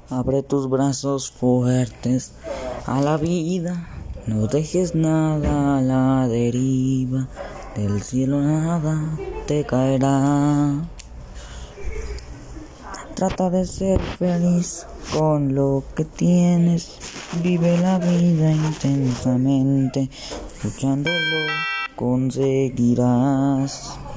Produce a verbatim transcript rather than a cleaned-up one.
Abre tus brazos fuertes a la vida, no dejes nada a la deriva, del cielo nada te caerá. Trata de ser feliz con lo que tienes, vive la vida intensamente, luchándolo conseguirás.